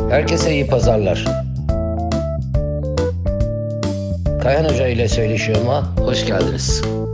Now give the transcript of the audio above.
Herkese iyi pazarlar. Kayhan Hoca ile Söyleşiyorum'a hoş geldiniz.